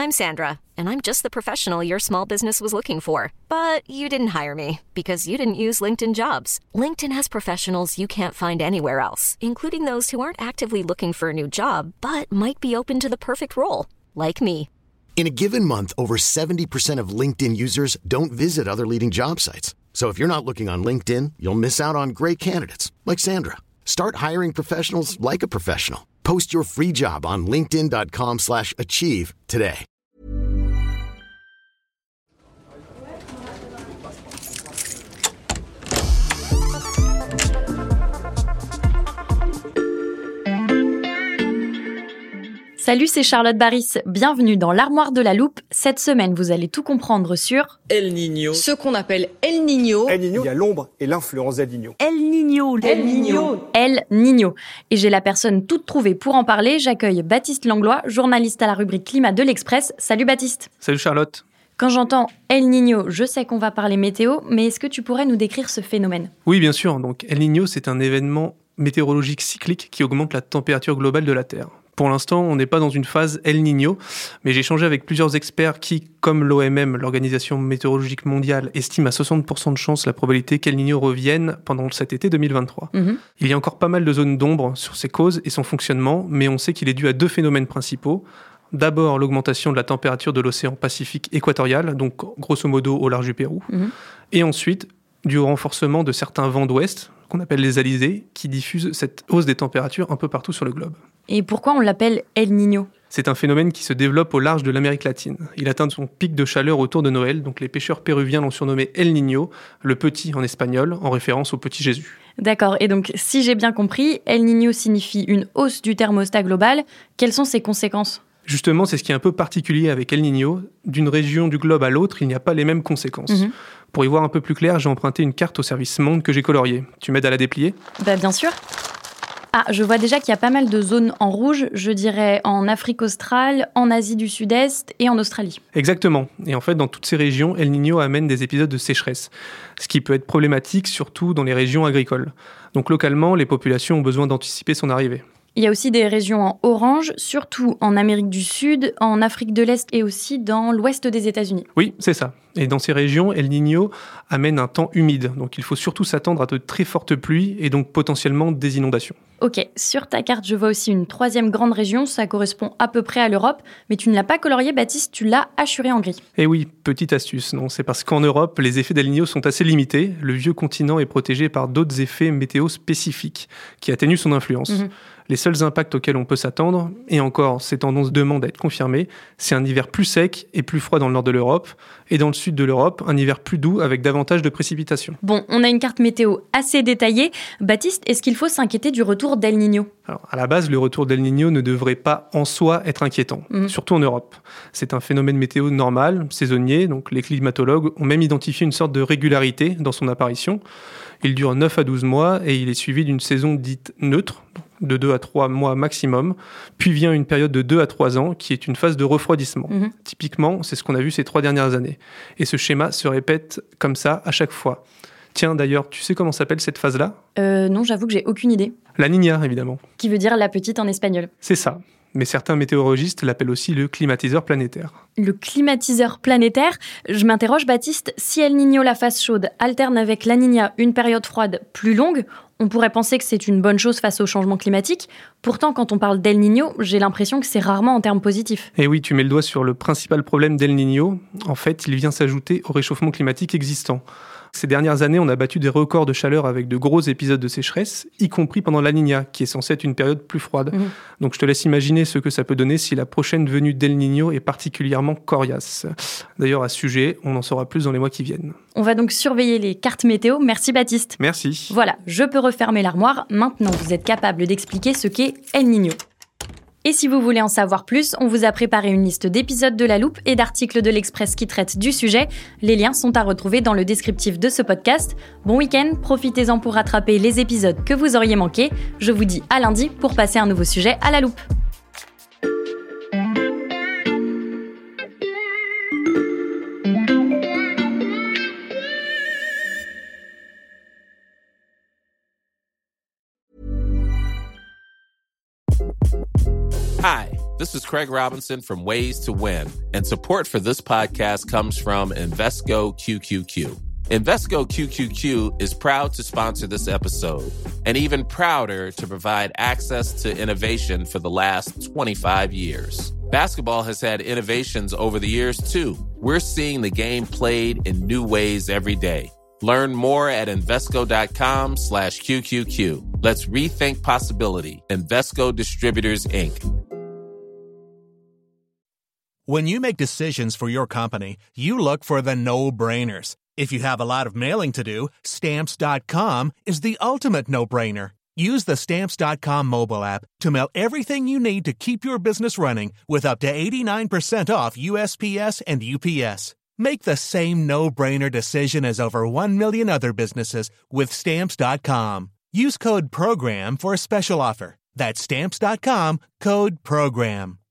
I'm Sandra, and I'm just the professional your small business was looking for. But you didn't hire me because you didn't use LinkedIn Jobs. LinkedIn has professionals you can't find anywhere else, including those who aren't actively looking for a new job, but might be open to the perfect role, like me. In a given month, over 70% of LinkedIn users don't visit other leading job sites. So if you're not looking on LinkedIn, you'll miss out on great candidates like Sandra. Start hiring professionals like a professional. Post your free job on linkedin.com/achieve today. Salut, c'est Charlotte Baris. Bienvenue dans l'Armoire de la Loupe. Cette semaine, vous allez tout comprendre sur El Niño. Ce qu'on appelle El Niño. El Niño, il y a l'ombre et l'influence d'El Niño. El Niño. El Niño. El Niño. Et j'ai la personne toute trouvée pour en parler. J'accueille Baptiste Langlois, journaliste à la rubrique Climat de l'Express. Salut Baptiste. Salut Charlotte. Quand j'entends El Niño, je sais qu'on va parler météo, mais est-ce que tu pourrais nous décrire ce phénomène ? Oui, bien sûr. Donc, El Niño, c'est un événement météorologique cyclique qui augmente la température globale de la Terre. Pour l'instant, on n'est pas dans une phase El Niño, mais j'ai échangé avec plusieurs experts qui, comme l'OMM, l'Organisation météorologique mondiale, estiment à 60% de chance la probabilité qu'El Niño revienne pendant cet été 2023. Il y a encore pas mal de zones d'ombre sur ses causes et son fonctionnement, mais on sait qu'il est dû à deux phénomènes principaux. D'abord, l'augmentation de la température de l'océan Pacifique équatorial, donc grosso modo au large du Pérou. Et ensuite, dû au renforcement de certains vents d'ouest, qu'on appelle les alizés, qui diffusent cette hausse des températures un peu partout sur le globe. Et pourquoi on l'appelle El Niño ? C'est un phénomène qui se développe au large de l'Amérique latine. Il atteint son pic de chaleur autour de Noël, donc les pêcheurs péruviens l'ont surnommé El Niño, le petit en espagnol, en référence au petit Jésus. D'accord, et donc si j'ai bien compris, El Niño signifie une hausse du thermostat global. Quelles sont ses conséquences ? Justement, c'est ce qui est un peu particulier avec El Niño. D'une région du globe à l'autre, il n'y a pas les mêmes conséquences. Pour y voir un peu plus clair, j'ai emprunté une carte au service Monde que j'ai coloriée. Tu m'aides à la déplier ? Bien sûr. Ah, je vois déjà qu'il y a pas mal de zones en rouge, je dirais en Afrique australe, en Asie du Sud-Est et en Australie. Exactement. Et en fait, dans toutes ces régions, El Niño amène des épisodes de sécheresse, ce qui peut être problématique, surtout dans les régions agricoles. Donc localement, les populations ont besoin d'anticiper son arrivée. Il y a aussi des régions en orange, surtout en Amérique du Sud, en Afrique de l'Est et aussi dans l'ouest des États-Unis. Oui, c'est ça. Et dans ces régions, El Niño amène un temps humide. Donc il faut surtout s'attendre à de très fortes pluies et donc potentiellement des inondations. Ok, sur ta carte, je vois aussi une troisième grande région, ça correspond à peu près à l'Europe, mais tu ne l'as pas colorié, Baptiste, tu l'as hachuré en gris. Et oui, petite astuce, non, c'est parce qu'en Europe, les effets d'El Niño sont assez limités. Le vieux continent est protégé par d'autres effets météo spécifiques qui atténuent son influence. Les seuls impacts auxquels on peut s'attendre, et encore, ces tendances demandent à être confirmées, c'est un hiver plus sec et plus froid dans le nord de l'Europe, et dans le sud de l'Europe, un hiver plus doux avec davantage de précipitations. Bon, on a une carte météo assez détaillée. Baptiste, est-ce qu'il faut s'inquiéter du retour d'El Niño ? Alors, à la base, le retour d'El Niño ne devrait pas en soi être inquiétant, surtout en Europe. C'est un phénomène météo normal, saisonnier, donc les climatologues ont même identifié une sorte de régularité dans son apparition. Il dure 9 à 12 mois et il est suivi d'une saison dite neutre, de 2 à 3 mois maximum, puis vient une période de 2 à 3 ans qui est une phase de refroidissement. Typiquement, c'est ce qu'on a vu ces 3 dernières années. Et ce schéma se répète comme ça à chaque fois. Tiens, d'ailleurs, tu sais comment s'appelle cette phase-là ? Non, j'avoue que j'ai aucune idée. La Niña, évidemment. Qui veut dire la petite en espagnol. C'est ça. Mais certains météorologistes l'appellent aussi le climatiseur planétaire. Le climatiseur planétaire ? Je m'interroge, Baptiste, si El Niño, la phase chaude, alterne avec La Niña, une période froide plus longue, on pourrait penser que c'est une bonne chose face au changement climatique. Pourtant, quand on parle d'El Niño, j'ai l'impression que c'est rarement en termes positifs. Et oui, tu mets le doigt sur le principal problème d'El Niño. En fait, il vient s'ajouter au réchauffement climatique existant. Ces dernières années, on a battu des records de chaleur avec de gros épisodes de sécheresse, y compris pendant la Niña, qui est censée être une période plus froide. Donc je te laisse imaginer ce que ça peut donner si la prochaine venue d'El Niño est particulièrement coriace. D'ailleurs, à ce sujet, on en saura plus dans les mois qui viennent. On va donc surveiller les cartes météo. Merci Baptiste. Merci. Voilà, je peux refermer l'armoire. Maintenant, vous êtes capable d'expliquer ce qu'est El Niño. Et si vous voulez en savoir plus, on vous a préparé une liste d'épisodes de La Loupe et d'articles de l'Express qui traitent du sujet. Les liens sont à retrouver dans le descriptif de ce podcast. Bon week-end, profitez-en pour rattraper les épisodes que vous auriez manqués. Je vous dis à lundi pour passer un nouveau sujet à La Loupe. Hi, This is Craig Robinson from Ways to Win, and support for this podcast comes from Invesco QQQ. Invesco QQQ is proud to sponsor this episode, and even prouder to provide access to innovation for the last 25 years. Basketball has had innovations over the years, too. We're seeing the game played in new ways every day. Learn more at Invesco.com/QQQ. Let's rethink possibility. Invesco Distributors, Inc. When you make decisions for your company, you look for the no-brainers. If you have a lot of mailing to do, Stamps.com is the ultimate no-brainer. Use the Stamps.com mobile app to mail everything you need to keep your business running with up to 89% off USPS and UPS. Make the same no-brainer decision as over 1 million other businesses with Stamps.com. Use code PROGRAM for a special offer. That's Stamps.com, code PROGRAM.